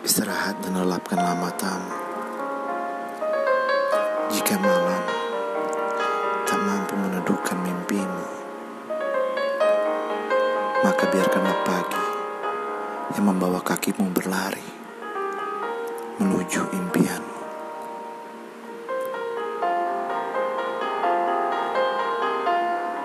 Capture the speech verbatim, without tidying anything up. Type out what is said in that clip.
Istirahat dan lelapkanlah matamu. Jika malam tak mampu meneduhkan mimpimu, maka biarkanlah pagi yang membawa kakimu berlari menuju impian.